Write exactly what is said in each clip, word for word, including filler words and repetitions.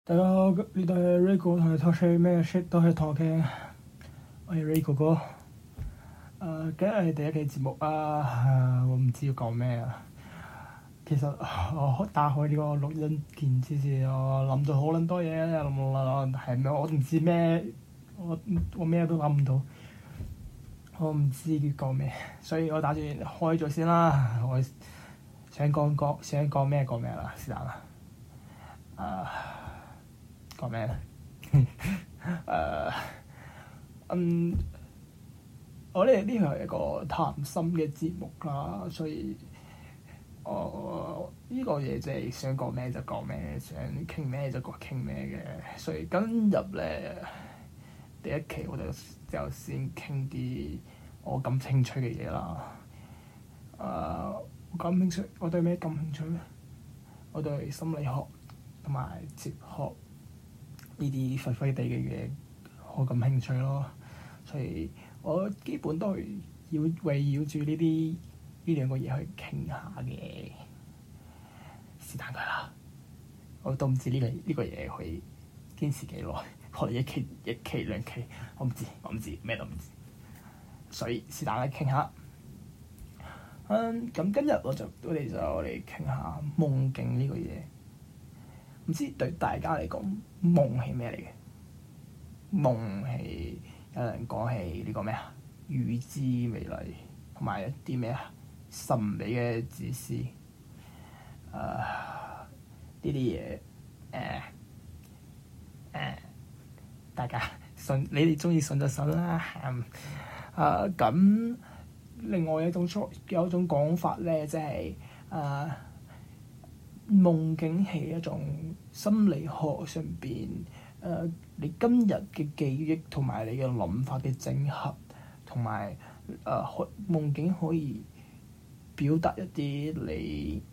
大家好，呢度係 Rico 同你 talk shit 咩 shit 都係同嘅，我係 Rico 哥。誒、呃，今日係第一期節目啊，呃、我唔知要講咩啊。其實我打開呢個錄音鍵之前，我諗咗好撚多嘢，諗係咩？我唔知咩，我我咩都諗唔到，我唔知要講咩，所以我打算開咗先啦。我想講講想講咩講咩啦，是但啦。誒。講咩咧？誒，嗯，我哋呢個係一個談心嘅節目啦，所以我呢、這個嘢就係想講咩就講咩，想傾咩就講傾咩嘅。所以今日咧第一期我就就先傾啲我感興趣嘅嘢啦。誒、uh，我感興趣，我對咩感興趣咧？我對心理學同埋哲學呢啲廢廢地嘅嘢，我感興趣咯，所以我基本都係要圍繞住呢啲呢兩個嘢去傾下嘅，是但佢啦。我都唔知呢、這個呢、這個嘢可以堅持幾耐，可能一期一期兩期，我唔知，我唔知咩都唔知，所以是但啦，傾下。嗯，咁今日我就我哋就嚟傾下夢境呢個嘢。唔知對大家嚟講，夢係咩嚟嘅？夢係有人講係呢個咩啊？預知未來，同埋一啲咩啊？神秘嘅指示。誒、呃，呢啲嘢誒誒，大家信，你哋中意信就信啦。誒、呃，咁另外一種有一種講法咧，即係誒。呃夢境係一種心理學上邊誒、呃，你今日嘅記憶同埋你嘅諗法嘅整合，同埋誒夢境可以表達一啲你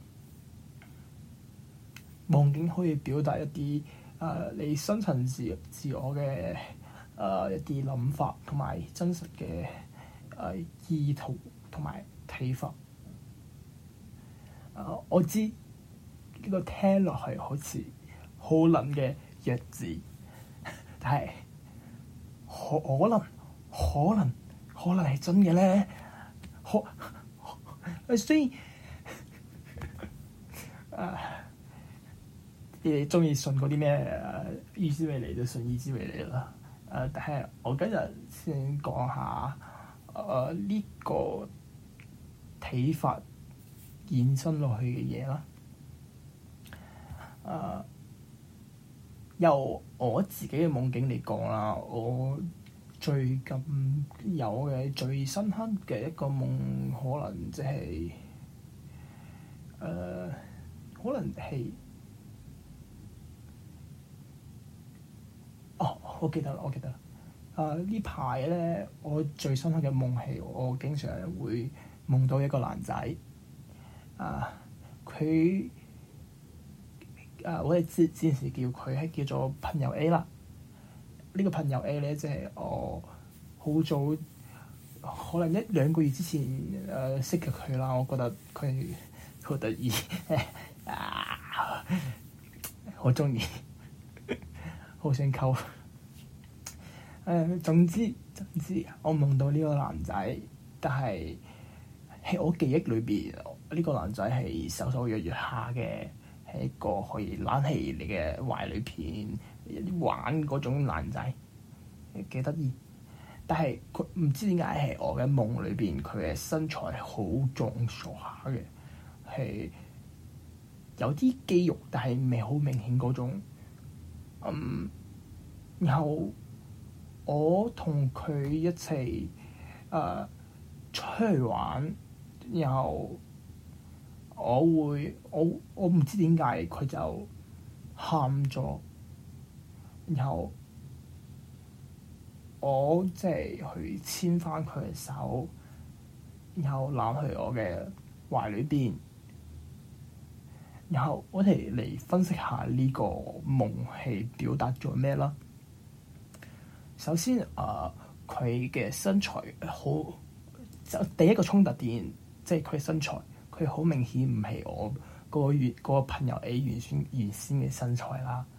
夢境可以表達一啲誒、呃、你深層自自我嘅誒、呃、一啲諗法，同埋真實嘅誒、呃、意圖同埋睇法。誒、呃，我知。呢個聽落去好似好撚嘅弱智，但係可可能可能可能係真嘅咧。可誒雖然誒你哋中意信嗰啲咩預知未來就信預知未來啦。誒、呃，但係我今日先講下誒呢、呃這個睇法延伸落去嘅嘢啦。誒、uh, 由我自己嘅夢境嚟講啦，我最近有嘅最深刻嘅一個夢，可能即係誒，可能係哦，我記得啦，我記得啦。誒、uh, 呢排咧，我最深刻嘅夢係我經常會夢到一個男仔。啊、uh, 佢。誒、uh，我哋之之前叫佢係叫做朋友 A 啦。呢、這個朋友 A 咧，即係我好早可能一兩個月之前誒、呃、識嘅佢啦。我覺得佢好得意，啊，好中意，好想溝。誒、呃，總之總之，我夢到呢個男仔，但係喺我記憶裏邊，呢、這個男仔係瘦瘦弱弱下嘅。係一個可以攬喺你嘅懷裏邊玩嗰種男仔，幾得意。但係佢唔知點解係我嘅夢裏邊，佢嘅身材好壯碩下嘅，係有啲肌肉，但係唔係好明顯嗰種。嗯，然後我同佢一齊誒、呃、出去玩，然後。我會我我唔知點解佢就喊咗，然後我即係去牽翻佢嘅手，然後攬去我嘅懷裏邊，然後我哋嚟分析下呢個夢係表達咗咩啦。首先啊，佢、呃、嘅身材好，就第一個衝突點即係佢身材。佢好明顯唔係我嗰個月嗰個朋友 A 原先原先嘅身材啦。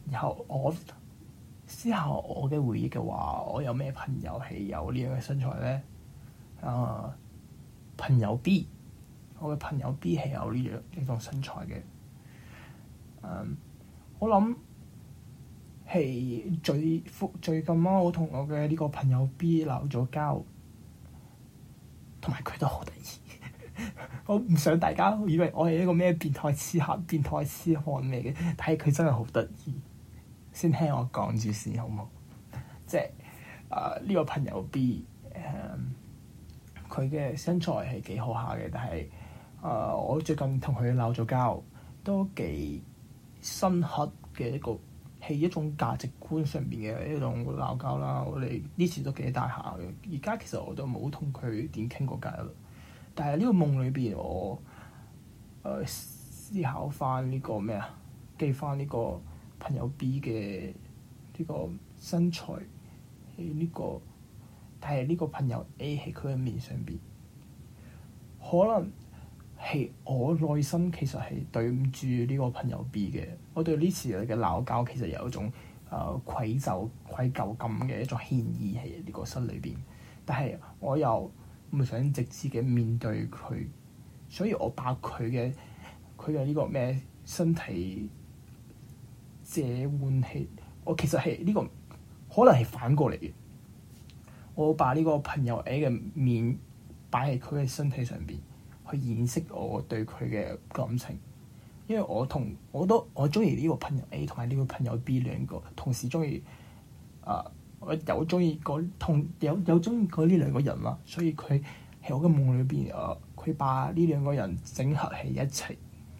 然後我思考我嘅回憶嘅話，我有咩朋友係有呢樣嘅身材咧？啊、呃，朋友 B，我嘅朋友 B 係有呢樣呢種身材嘅。嗯，我諗係最最近啊，我同我嘅呢個朋友 B 鬧咗交，同埋佢都好得意。我唔想大家以為我係一個咩變態痴漢、變態痴漢嚟嘅，但係佢真係好得意。先聽我講住先好唔好？即係啊呢個朋友 B，誒佢嘅身材係幾好下嘅，但係啊、呃、我最近同佢鬧咗交，都幾深刻嘅一個係一種價值觀上邊嘅一種鬧交啦。我哋呢次都幾大下嘅，而家其實我都冇同佢點傾過偈啦。但係呢個夢裏邊，我誒、呃、思考翻呢個咩啊？記翻呢個朋友 B 嘅呢個身材喺呢個，但係呢個朋友 A 喺佢嘅面上邊，可能係我內心其實係對唔住呢個朋友 B 嘅。我對呢次嘅鬧交其實有一種誒、呃、愧疚、愧疚感嘅一種歉意喺呢個心裏邊，但係我又唔想直接嘅面對佢，所以我把佢嘅佢嘅呢個咩身體借換起，我其實係呢個可能係反過嚟嘅。我把呢個朋友 A 嘅面擺喺佢嘅身體上邊，去掩飾我對佢嘅感情。因為我同我都我中意呢個朋友 A 同埋呢個朋友 B 兩個同時中意啊，我有中意過同有有中意過呢兩個人啦，所以佢喺我嘅夢裏邊啊，佢把呢兩個人整合喺一齊，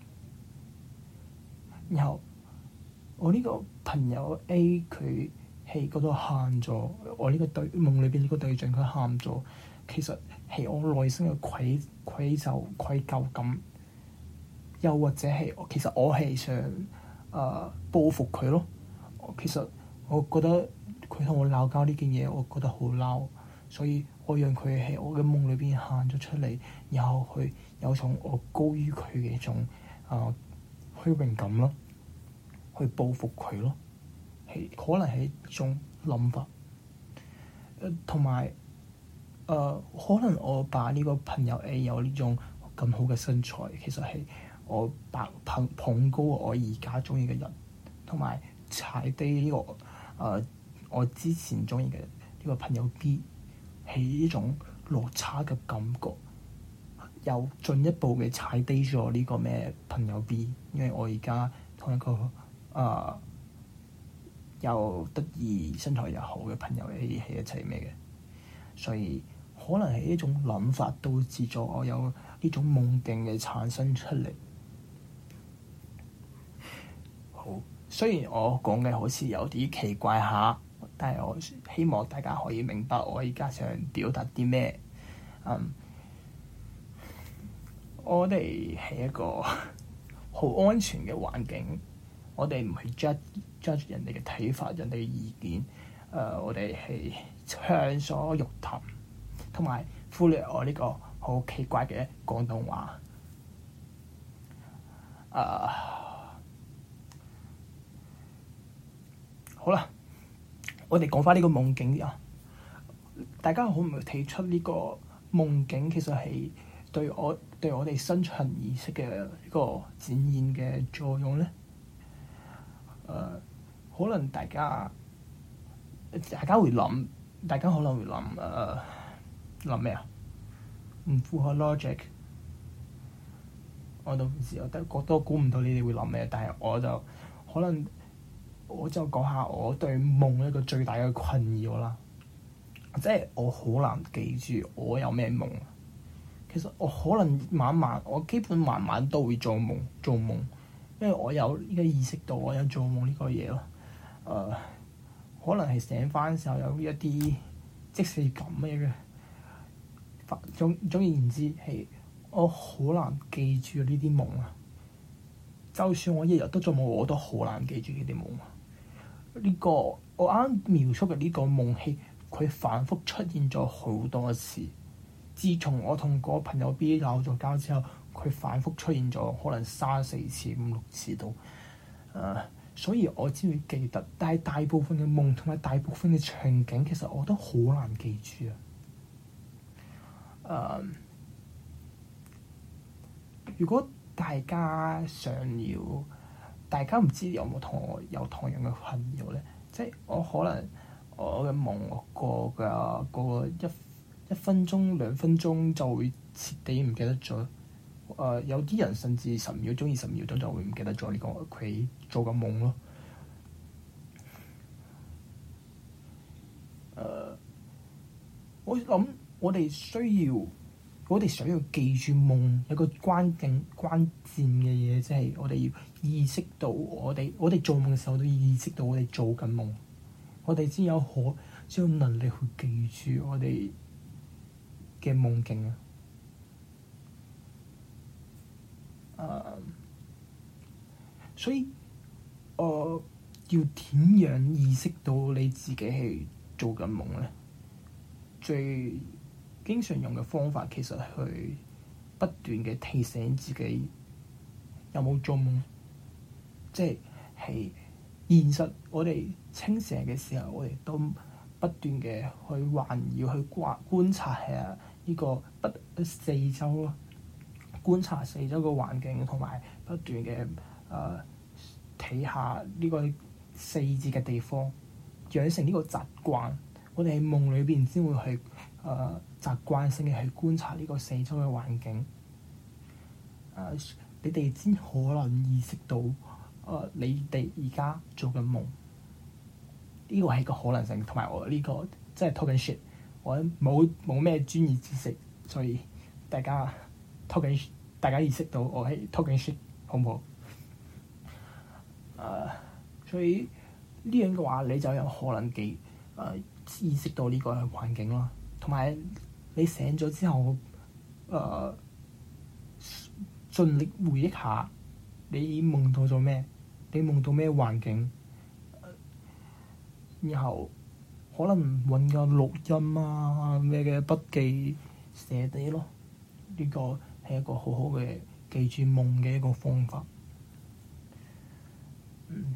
然後我呢個朋友 A 佢喺嗰度喊咗，我呢個對夢裏邊呢個對象佢喊咗，其實係我內心嘅愧愧疚愧疚感，又或者係其實我係想誒、呃、報復佢咯。其實我覺得佢同我鬧交呢件嘢，我覺得好嬲，所以我讓佢喺我嘅夢裏邊喊咗出嚟，然後去有種我高於佢嘅一種誒虛榮感咯，去報復佢咯，係可能係一種諗法。誒同埋誒可能我把呢個朋友 A 有呢種咁好嘅身材，其實係我把捧捧高我而家中意嘅人，同埋踩低呢、這個誒、呃、我之前中意嘅呢個朋友 B，係呢種落差嘅感覺，又進一步嘅踩低咗呢個咩朋友 B，因為我而家同一個誒、呃、又得意身材又好嘅朋友 A 喺一齊咩嘅，所以可能係呢種諗法導致咗我有呢種夢境嘅產生出嚟。好，雖然我講嘅好似有啲奇怪下，但係我希望大家可以明白我而家想表達啲咩。嗯，我哋係一個好安全嘅環境，我哋唔係 judge judge 人哋嘅睇法、人哋嘅意見。誒、呃，我哋係暢所欲談，同埋忽略我呢個好奇怪嘅廣東話。誒、呃。好啦，我哋講翻呢個夢境啊！大家可唔可以睇出呢個夢境其實係對我對我哋深層意識嘅呢個展現嘅作用咧？誒、呃，可能大家大家會諗，大家可能會諗誒諗咩啊？唔符合 logic，我都唔知，我都我都估唔到你哋會諗咩，但係我就可能。我就講下我對夢一個最大嘅困擾啦，即係我好難記住我有咩夢。其實我可能晚晚，我基本晚晚都會做夢，做夢，因為我有呢個意識到我有做夢呢個嘢咯。誒、呃，可能係醒翻嘅時候有一啲即視感嘅，總總而言之係我好難記住呢啲夢啊。就算我日日都做夢，我都好難記住呢啲夢。呢、這個我啱描述嘅呢個夢係佢反覆出現咗好多次。自從我同個朋友 B 鬧咗交之後，佢反覆出現咗可能三四次、五六次都誒、呃， 所以我先會記得。但係大部分嘅夢同埋大部分嘅場景，其實我都好難記住啊。誒、uh，如果大家想要，大家唔知有冇同我有同樣嘅困擾咧？即係我可能我嘅夢，我過嘅過一一分鐘兩分鐘就會徹底唔記得咗。誒、呃，有啲人甚至十秒鐘、二十秒鐘就會唔記得咗呢個佢做嘅夢咯。誒、呃，我諗我哋需要。我哋想要記住夢，有個關鍵關鍵嘅嘢，即係我哋要意識到我哋我哋做夢嘅時候都要意識到我哋做緊夢，我哋先有可先有能力去記住我哋嘅夢境啊！誒、uh，所以我、呃、要點樣意識到你自己係做緊夢咧？最經常用嘅方法其實係去不斷嘅提醒自己有冇做夢，即係係現實。我哋清醒嘅時候，我哋都不斷嘅去環繞、去觀觀察下呢個不四周咯，觀察四周嘅環境，同埋不斷嘅誒睇下呢個四字嘅地方，養成呢個習慣。我哋喺夢裏邊先會去誒、呃、習慣性嘅去觀察呢個四周嘅環境。誒、呃，你哋先可能意識到誒、呃、你哋而家做緊夢，呢個係個可能性。同埋我呢、這個即係 talking shit，我冇冇咩專業知識，所以大家 talking， 大家意識到我係 talking shit，好唔好？誒、呃，所以呢樣嘅話，你就有可能記誒。呃意識到呢個環境咯，同埋你醒咗之後，誒、呃，盡力回憶下你夢到咗咩？你夢到咩環境？然後可能揾個錄音啊，咩嘅筆記寫低咯。呢個係一個好好嘅記住夢嘅一個方法。嗯，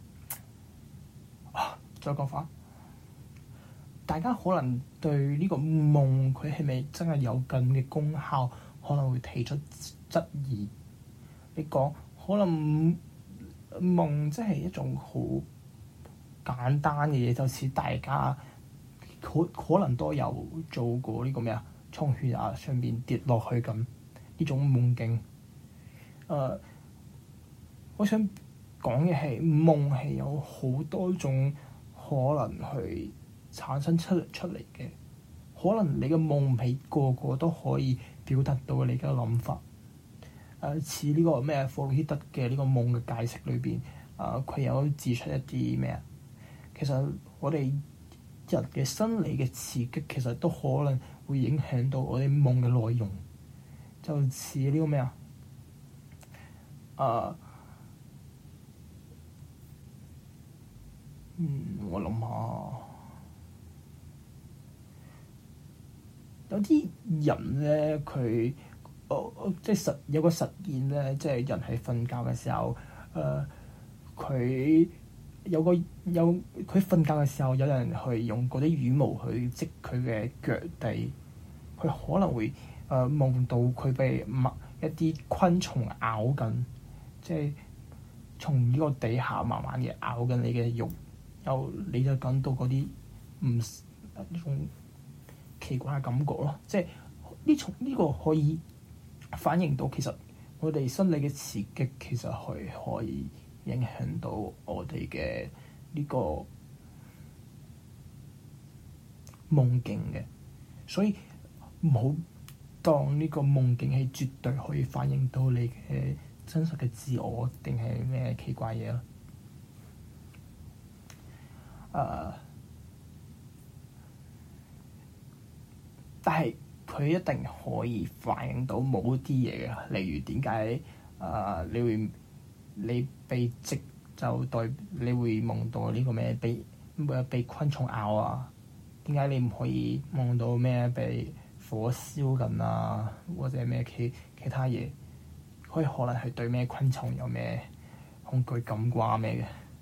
啊，再講翻。大家可能對呢個夢佢係咪真係有咁嘅功效，可能會提出質疑。你講可能夢即係一種好簡單嘅嘢，就似大家可可能都有做過呢個咩啊，從懸崖上邊跌落去咁呢種夢境。誒、呃，我想講嘅係夢係有好多種可能去產生出嚟出嚟嘅，可能你嘅夢唔係個個都可以表達到你嘅諗法。誒、呃，似呢個咩弗洛伊德嘅呢個夢嘅解釋裏邊，啊、呃，佢有指出一啲咩啊？其實我哋人嘅生理嘅刺激，其實都可能會影響到我哋夢嘅內容。就似呢個咩啊？誒、呃，嗯，我諗下。有啲人咧，佢，哦、呃，即係實有個實驗咧，即係人喺瞓覺嘅時候，誒、呃，佢有個有佢瞓覺嘅時候，有人去用嗰啲羽毛去織佢嘅腳底，佢可能會誒、呃、夢到佢被某一啲昆蟲咬緊，即係從呢個底下慢慢嘅咬緊你嘅肉，又你就感到嗰啲唔一種奇怪嘅感覺咯，即係呢種呢個可以反映到其實我哋生理嘅刺激其實係可以影響到我哋嘅呢個夢境嘅，所以唔好當呢個夢境係絕對可以反映到你嘅真實嘅自我，定係咩奇怪嘢咯？誒、uh，但係佢一定可以反映到某啲嘢嘅，例如點解誒你會你被織就代你會夢到呢個咩被被昆蟲咬啊？點解你唔可以夢到咩被火燒緊啊？或者咩其其他嘢？佢可能係對咩昆蟲有咩恐懼感啩咩嘅？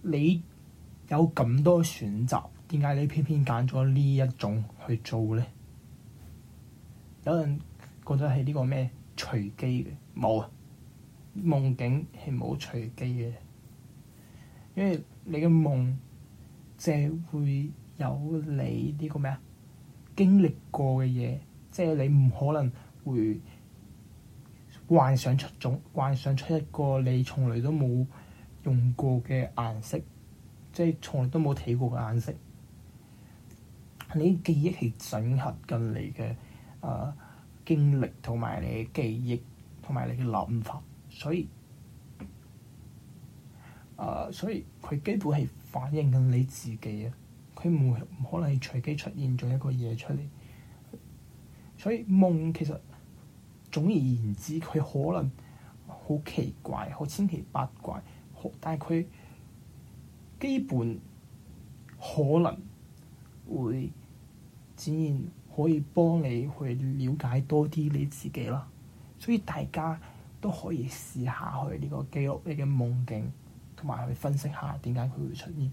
你有咁多選擇，點解你偏偏揀咗呢一種去做咧？有人覺得係呢個咩隨機嘅，冇啊！夢境係冇隨機嘅，因為你嘅夢即係會有你呢個咩啊經歷過嘅嘢，即係你唔可能會幻想出種幻想出一個你從來都冇用過嘅顏色，即係從來都冇睇過嘅顏色。你記憶係整合緊你嘅誒、呃、經歷同埋你嘅記憶同埋你嘅諗法，所以誒、呃、所以佢基本係反映緊你自己啊！佢唔唔可能係隨機出現咗一個嘢出嚟，所以夢其實總而言之，佢可能好奇怪、好千奇百怪，好但係佢基本可能會展現可以幫你去了解多啲你自己啦，所以大家都可以試下去呢個記錄你嘅夢境，同埋去分析下點解佢會出現。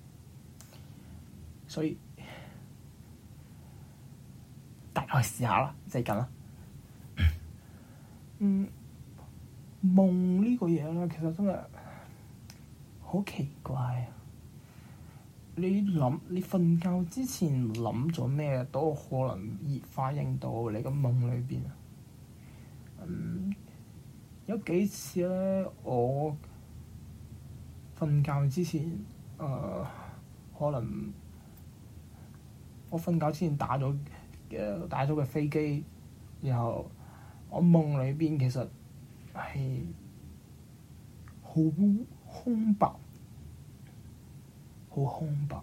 所以大家去試下啦，就係咁啦。嗯，夢呢個嘢咧，其實真係好奇怪啊！你諗，你瞓覺之前諗咗咩都可能易反映到你個夢裏邊啊。嗯，有幾次咧，我瞓覺之前，誒、呃，可能我瞓覺之前打咗嘅打咗個飛機，然後我夢裏邊其實係好空白。好空白，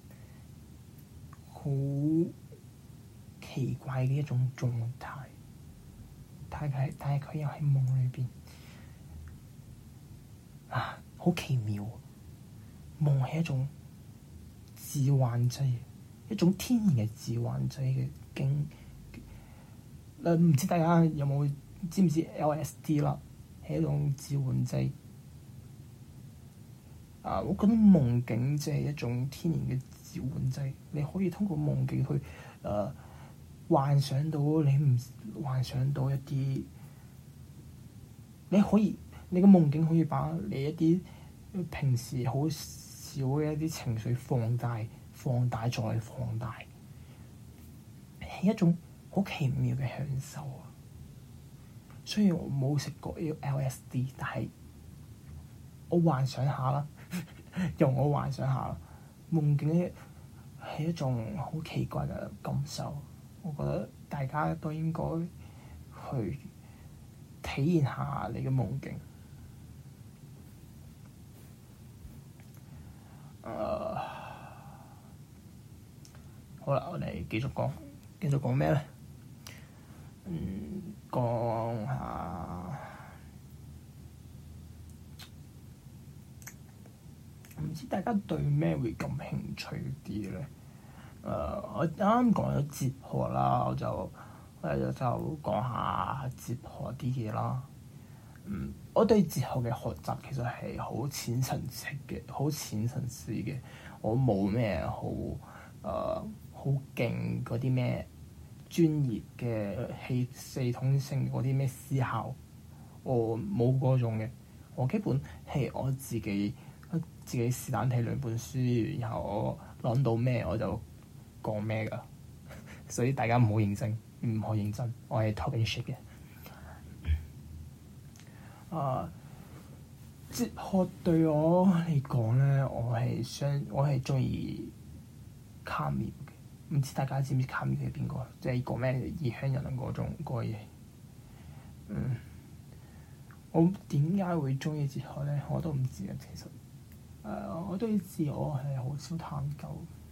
好奇怪嘅一種狀態，但係但係佢又喺夢裏邊啊，好奇妙！夢係一種致幻劑，一種天然嘅致幻劑嘅經。誒、唔知大家有冇知唔知 L S D 啦？係一種致幻劑。啊！我覺得夢境即係一種天然嘅召喚劑，你可以通過夢境去誒、呃、幻想到你唔幻想到一啲，你可以你嘅夢境可以把你一啲平時好少嘅一啲情緒放大、放大再放大，係一種好奇妙嘅享受啊！雖然我冇食過呢個 L S D， 但係我幻想下啦。用我幻想下，夢境咧係一種好奇怪嘅感受。我覺得大家都應該去體驗下你嘅夢境。誒、uh，好啦，我哋繼續講，繼續講咩咧？嗯，講下。唔知大家對咩會感興趣啲咧？誒、uh，我啱啱講咗哲學啦，我就我就就講下哲學啲嘢啦。嗯，我對哲學嘅學習其實係好淺層次嘅，好淺層次嘅。我冇咩好誒好勁嗰啲咩專業嘅系系統性嗰啲咩思考，我冇嗰種嘅。我基本係我自己。自己是但睇兩本書，然後我諗到咩我就講咩㗎，所以大家唔好認真，唔好認真，我係 talking shit 嘅。啊，哲學對我嚟講咧，我係想我係中意卡繆嘅，唔知大家知唔知卡繆係邊個？即係講咩異鄉人嗰種嗰個嘢。嗯，我點解會中意哲學咧？我都唔知啊，其實。誒，uh, 我對自我係好少探究。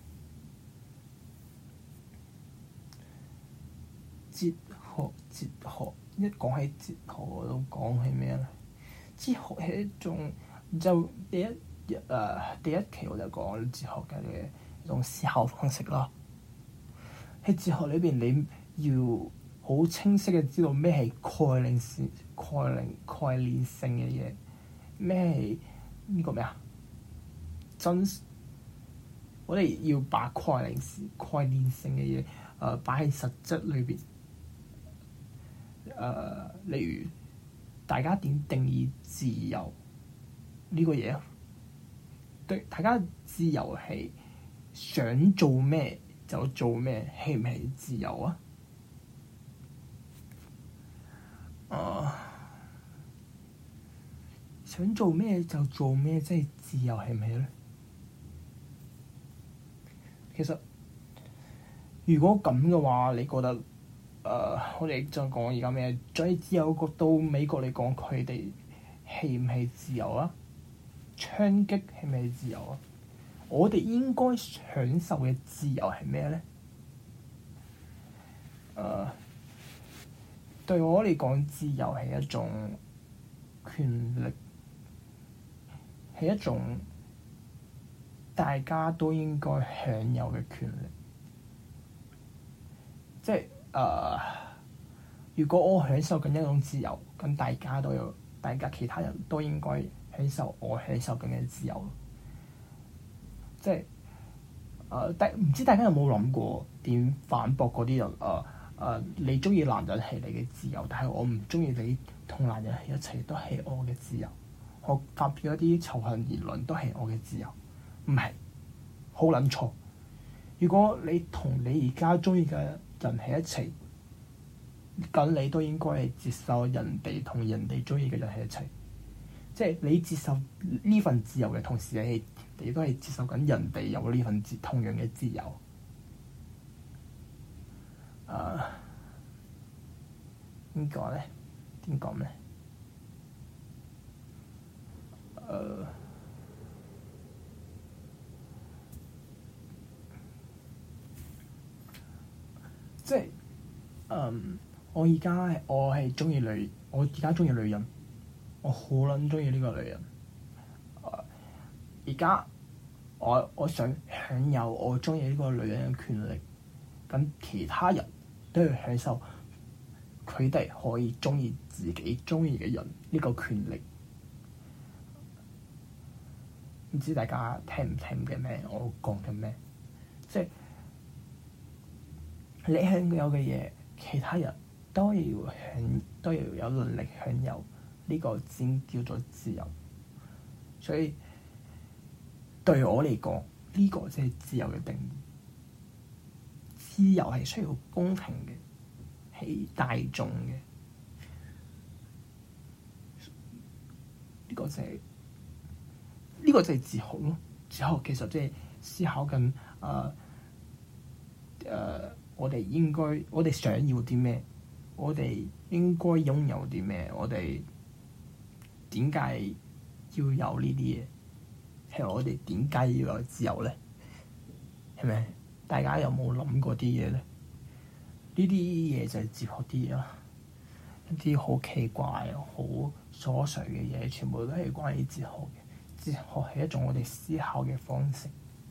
哲學，哲學一講起哲學，我都講起咩咧？哲學係一種就第一誒、uh, 第一期我就講哲學嘅一種思考方式啦。喺哲學裏邊，你要好清晰嘅知道咩係概念性、概念概念性嘅嘢，咩係呢個咩啊？ 真，我哋要把概念概念性嘅嘢誒擺喺實質裏邊。誒、呃，例如大家點定義自由呢個嘢啊？對，大家自由係想做咩就做咩，係唔係自由啊？誒、呃，想做咩就做咩，即係自由係唔係咧？其實如果咁嘅話，你覺得誒、呃，我哋就講而家咩？最自由國到美國嚟講，佢哋係唔係自由啊？槍擊係咪自由啊？我哋應該享受嘅自由係咩咧？誒、呃，對我嚟講，自由係一種權力，係一種大家都應該享有嘅權力。即係誒、呃，如果我享受緊一種自由，咁大家都有，大家其他人都應該享受我享受緊嘅自由。即係誒，但、呃、唔知大家有冇諗過點反駁嗰啲人？誒、呃、誒、呃，你中意男人係你嘅自由，但係我唔中意你同男人喺一齊都係我嘅自由。我發表一啲仇恨言論都係我嘅自由，唔係好撚錯。如果你同你而家中意嘅人喺一齊，咁你都應該係接受人哋同人哋中意嘅人喺一齊。即係你接受呢份自由嘅同時，你你都係接受緊人哋有呢份自同樣嘅自由。誒點講咧？點講咧？誒、uh, 即係嗯，我而家我係中意女，我而家中意女人，我好撚中意呢個女人。誒而家我我想享有我中意呢個女人嘅權力，咁其他人都要享受佢哋可以中意自己中意嘅人呢個權力。唔知大家聽唔聽嘅咩？我講緊咩？即係你享有嘅嘢，其他人都要享，都要有能力享有，呢個先叫做自由。所以對我嚟講，呢個即係自由嘅定義。自由係需要公平嘅，係大眾嘅。呢個就係。呢個就係哲學咯。哲學其實即係思考緊誒誒，我哋應該，我哋想要啲咩？我哋應該擁有啲咩？我哋點解要有呢啲嘢？係我哋點解要有自由咧？係咪？大家有冇諗過啲嘢咧？呢啲嘢就係哲學啲嘢啦，一啲好奇怪、好瑣碎嘅嘢，全部都係關於哲學嘅。哲學係一種我哋思考嘅方式，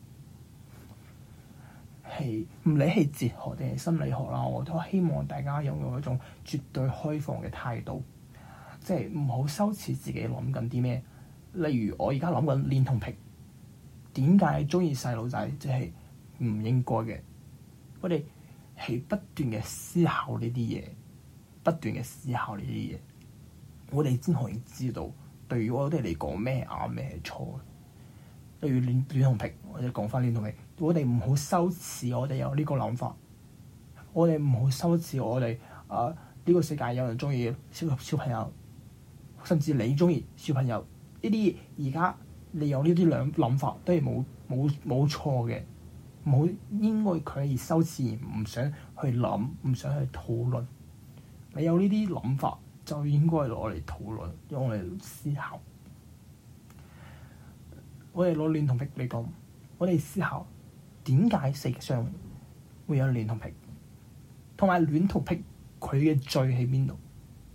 係唔理係哲學定係心理學啦，我都希望大家擁有一種絕對開放嘅態度，即係唔好羞恥自己諗緊啲咩。例如我而家諗緊戀童癖，點解鍾意細路仔？即係唔應該嘅。我哋係不斷嘅思考呢啲嘢，不斷嘅思考呢啲嘢，我哋先可以知道。對於我哋嚟講，咩啱咩係錯？例如戀戀童癖，或者講翻戀童癖，我哋唔好羞恥，我哋有呢個諗法。我哋唔好羞恥，我哋啊呢個世界有人中意小小朋友，甚至你中意小朋友呢啲，而家你有呢啲兩諗法都係冇冇冇錯嘅，冇應該佢係羞恥而唔想去諗，唔想去討論。你有呢啲諗法，就應該攞嚟討論，用嚟思考。我哋攞戀童癖嚟講，我哋思考點解世界上會有戀童癖，同埋戀童癖佢嘅罪喺邊度？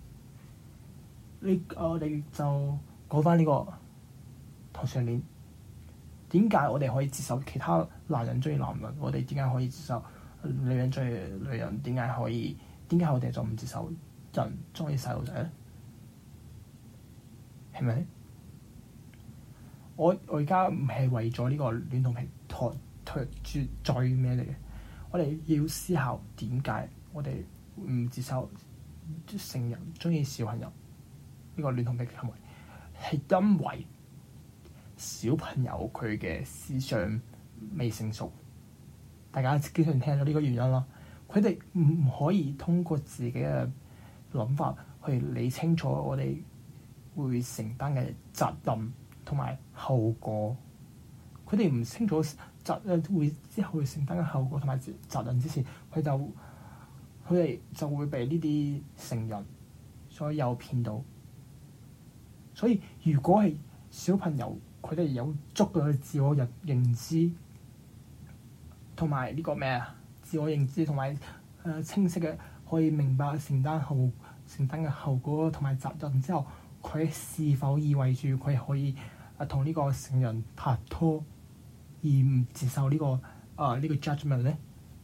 你我哋就講翻呢個同性戀，點解我哋可以接受其他男人追男人？我哋點解可以接受女人追女人？點解可以？點解我哋就唔接受人中意細路仔咧？係咪？ 我我而家唔係為咗呢個戀童癖托托住罪咩嚟嘅，我哋要思考點解我哋唔接受成人中意小朋友呢個戀童癖嘅行為，係因為小朋友佢嘅思想未成熟。大家經常聽到呢個原因啦，佢哋唔可以通過自己嘅諗法去理清楚我哋會承擔嘅責任同埋後果。佢哋唔清楚責誒會之後會承擔嘅後果同埋責任之前，佢就佢哋就會被呢啲成人所誘騙到。所以如果係小朋友，佢哋有足夠嘅自我認認知同埋呢個咩啊？自我認知同埋誒清晰嘅可以明白承擔後承擔嘅後果同埋責任之後，佢是否意味住佢可以誒同呢個成人拍拖而唔接受呢、這個啊呢、呃這個 judgment 咧？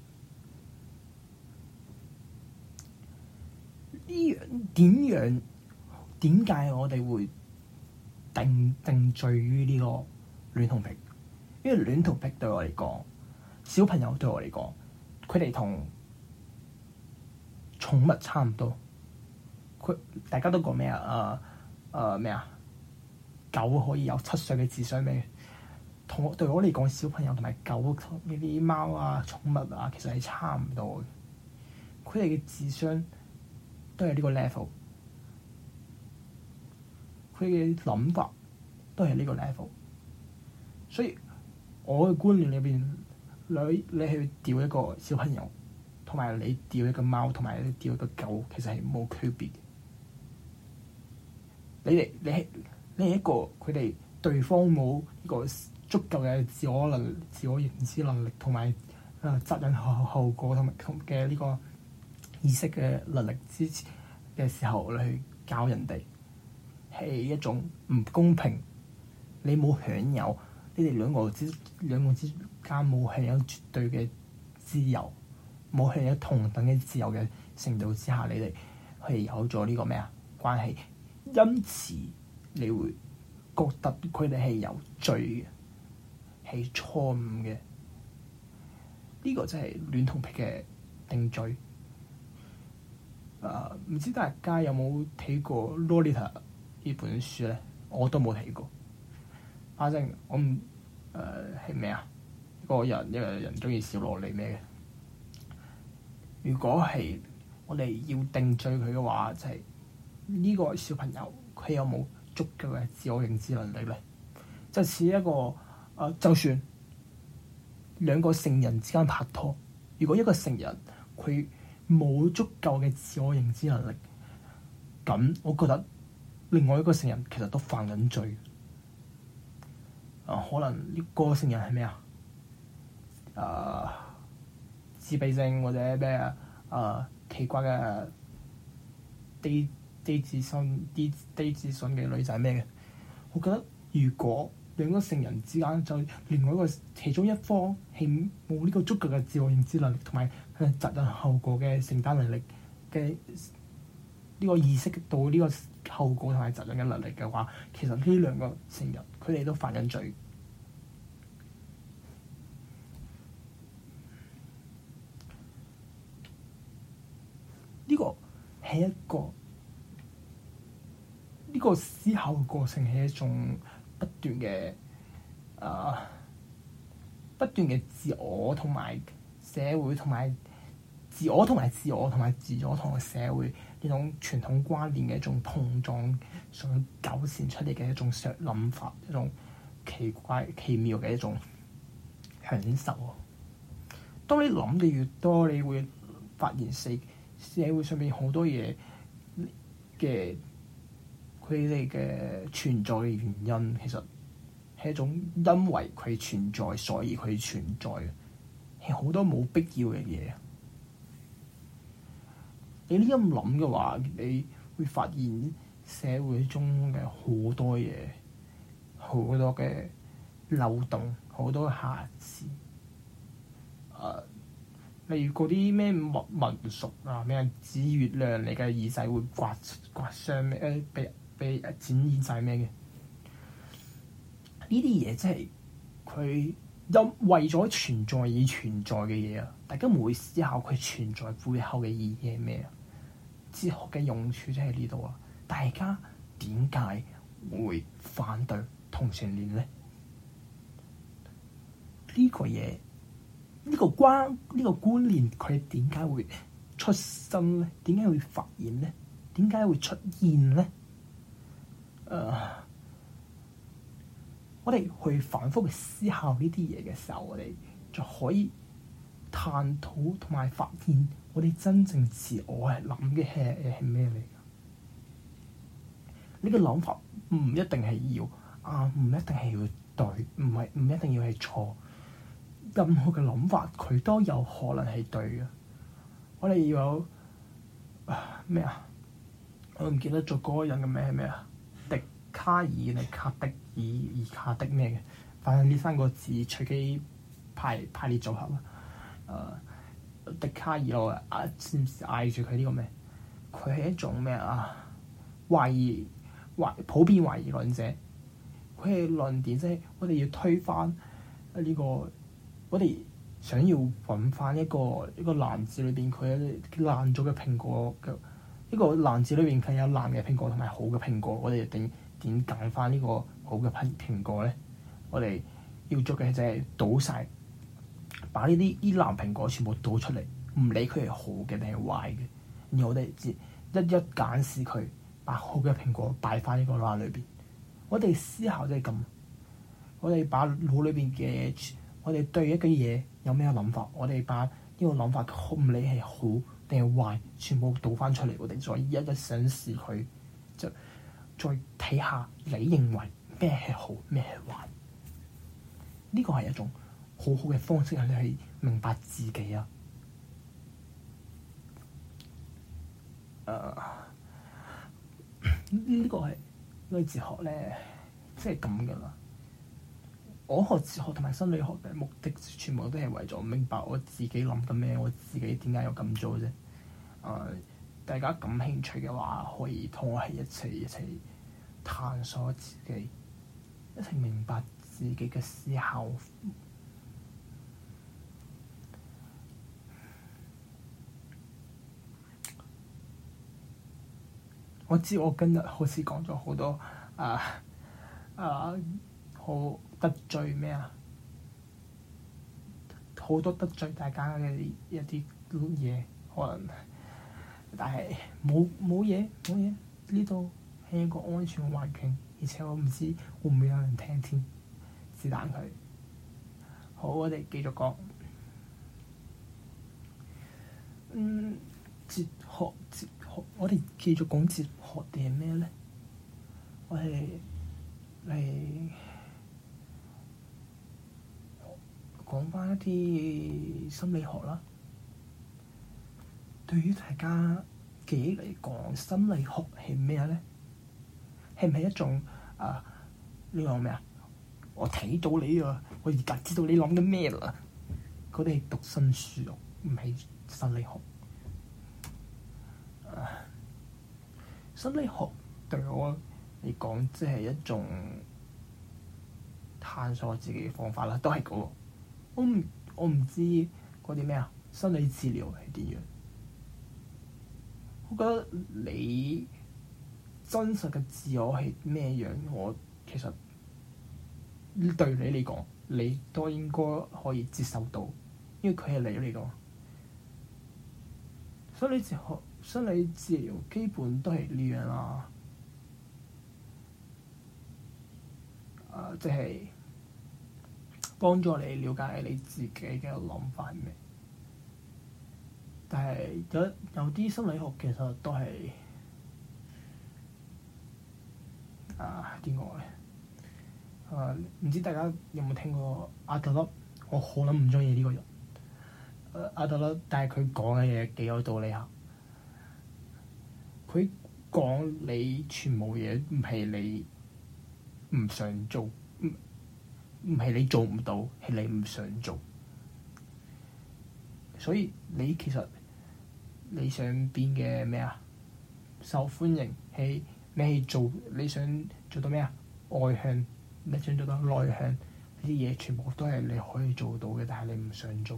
呢樣點樣點解我哋會定定罪於呢個戀童癖？因為戀童癖對我嚟講，小朋友對我嚟講，佢哋同寵物差唔多。佢大家都講咩啊？誒誒咩啊？狗可以有七歲嘅智商咩？同對我嚟講，小朋友同埋狗呢啲貓啊、寵物啊，其實係差唔多嘅。佢哋嘅智商都係呢個 level。佢嘅諗法都係呢個 level，所以我嘅觀念裏邊，你你去釣一個小朋友，同埋你釣一個貓，同埋你釣一個狗，其實係冇區別嘅。你哋你係你係一個佢哋對方冇呢個足夠嘅自我能、自我認知能力，同埋誒責任後後果同埋嘅呢個意識嘅能力之前嘅時候，你去教人哋。係一種唔公平，你冇享有，你哋兩個之兩個之間冇享有絕對嘅自由，冇享有同等嘅自由嘅程度之下，你哋係有咗呢個咩啊關係，因此你會覺得佢哋係有罪嘅，係錯誤嘅。呢、這個就係戀童癖嘅定罪。誒、呃，唔知大家有冇睇過《Lolita》呢本書咧？我都冇睇過。反正我唔誒係咩啊？一個人一個人中意小蘿莉咩嘅？如果係我哋要定罪佢嘅話，就係、是、呢個小朋友佢有冇足夠嘅自我認知能力咧？就似一個誒、呃，就算兩個成人之間拍拖，如果一個成人佢冇足夠嘅自我認知能力，咁我覺得另外一個成人其實都犯緊罪。啊、呃，可能呢個成人係咩啊？誒、呃，自閉症或者咩啊？誒、呃，奇怪嘅低低自信、低低自信嘅女仔咩嘅？我覺得如果兩個成人之間就另外一個其中一方係冇呢個足夠嘅自我認知能力同埋佢責任後果嘅承擔能力嘅呢個意識到呢個後果同埋責任嘅能力嘅話，其實呢兩個成人佢哋都犯緊罪。呢個係一個呢個思考嘅過程係一種不斷嘅誒不斷嘅自我同埋社會同埋自我同埋自我同埋自我同埋社會呢種傳統觀念嘅一種碰撞，所糾纏出嚟嘅一種想諗法，一種奇怪奇妙嘅一種享受。當你諗嘅越多，你會發現社社會上面好多嘢嘅佢哋嘅存在嘅原因，其實係一種因為佢存在，所以佢存在嘅，係好多冇必要嘅嘢。你呢咁諗嘅話，你會發現社會中嘅好多嘢，好多嘅漏洞，好多瑕疵。誒、呃，例如嗰啲咩民民俗啊，咩指月亮你嘅耳仔會刮刮傷咩？誒，被被剪耳仔咩嘅？ 呢啲嘢即係佢因為咗存在而存在嘅嘢啊！大家唔會思考佢存在背後嘅意義係咩啊？哲學嘅用處即係呢度啊！大家點解會反對同性戀咧？呢個嘢，呢個關，呢個觀念，佢點解會出生咧？點解會發現咧？點解會出現咧？誒、uh，我哋去反覆去思考呢啲嘢嘅時候，我哋就可以探討同埋發現，我哋真正自我係諗嘅係係咩嚟㗎？呢個諗法唔一定係要啊，唔一定係要對，唔係唔一定要係錯。任何嘅諗法，佢都有可能係對嘅。我哋要有咩啊？我唔記得咗嗰個人嘅名係咩啊？笛卡爾定卡的爾爾卡的咩嘅？反正呢三個字隨機排排列組合啦。誒、呃，笛卡爾我啊，知唔知嗌住佢呢個咩？佢係一種咩啊？懷疑懷普遍懷疑論者。佢係論點即係我哋要推翻呢、這個。我哋想要揾翻一個一個籃子裏邊佢爛咗嘅蘋果嘅，一個籃子裏邊佢有爛嘅蘋果同埋好嘅蘋果，我哋點點揀翻呢個好嘅蘋蘋果咧？我哋要做嘅就係倒晒，把呢啲啲爛蘋果全部倒出嚟，唔理佢係好嘅定係壞嘅，然後我哋一一揀試佢，把好嘅蘋果擺翻呢個籃裏邊。我哋思考就係咁，我哋把腦裏邊嘅。我哋對一個嘢有咩諗法？我哋把呢個諗法唔理係好定係壞，全部倒翻出嚟，我哋再一一審視佢，就再睇下你認為咩係好，咩係壞。呢個係一種好好嘅方式，係你去明白自己啊！誒、uh, 呢個係呢個哲學咧，即係咁噶啦。我學哲學同埋心理學嘅目的，全部都係為咗明白我自己諗緊咩，我自己點解要咁做啫。誒、呃，大家感興趣嘅話，可以同我係一齊一齊探索自己，一齊明白自己嘅思考。我知我今日好似講咗好多啊啊好〜得罪咩啊？好多得罪大家嘅一啲嘢，可能，但係冇冇嘢冇嘢，呢度係一個安全嘅環境，而且我唔知會唔會有人聽添，是但佢。好，我哋繼續講。嗯，哲學哲學，我哋繼續講哲學定係咩咧？我係嚟。講翻一啲心理學啦。對於大家記憶嚟講，心理學係咩咧？係唔係一種啊？呢個咩啊？我睇到你啊，我而家知道你諗緊咩啦。佢哋係讀心術，唔係心理學。啊，心理學對我嚟講，即係一種探索自己嘅方法啦，都係嗰個。我唔我唔知嗰啲咩啊，心理治療係點樣？我覺得你真實嘅自我係咩樣？我其實對你嚟講，你都應該可以接受到，因為佢係你嚟講。心理哲學、心理治療基本都係呢樣啦。啊，即係。幫助你了解你自己嘅諗法係咩？但係有有啲心理學其實都係啊點講咧？啊，唔知大家有冇聽過阿德勒？我好撚唔中意呢個人。誒阿德勒，但係佢講嘅嘢幾有道理下。佢講你全部嘢唔係你唔想做。唔係你做唔到，係你唔想做。所以你其實你想變嘅咩啊？受歡迎係你係做你想做到咩啊？外向你想做到內向，呢啲嘢全部都係你可以做到嘅，但係你唔想做。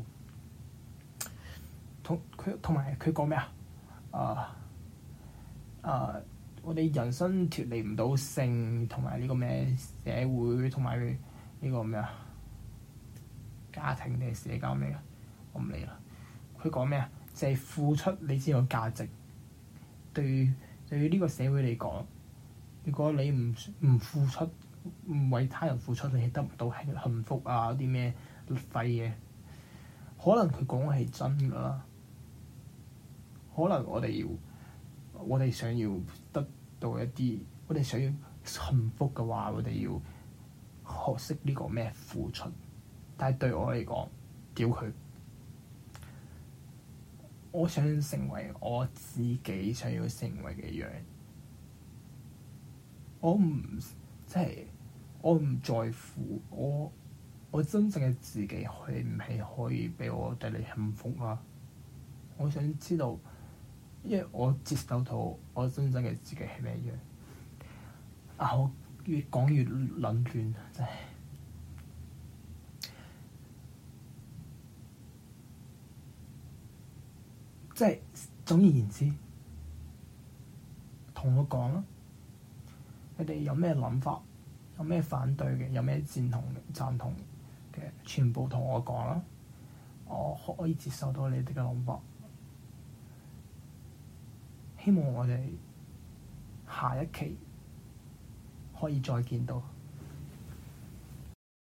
同佢同埋佢講咩啊？啊啊！我哋人生脫離唔到性同埋呢個咩社會同埋呢個咩啊家庭定係社交咩啊？我唔理啦。佢講咩啊？就係、是、付出你先有價值。對於對於呢個社會嚟講，如果你唔唔付出，唔為他人付出，你係得唔到幸福啊！啲咩廢嘢？可能佢講嘅係真㗎啦。可能我哋要，我哋想要得到一啲，我哋想要幸福嘅話，我哋要學識呢個咩付出。但係對我嚟講，屌佢！我想成為我自己想要成為嘅樣。我唔即係我唔在乎我我真正嘅自己係唔係可以俾我帶嚟幸福啊！我想知道，因為我接受到我真正嘅自己係咩樣。啊！我越講越撚亂，真係。即係總而言之，同我講啦，你哋有咩諗法，有咩反對嘅，有咩贊同嘅、贊同嘅，全部同我講啦。我可以接受到你哋嘅諗法。希望我哋下一期可以再見到。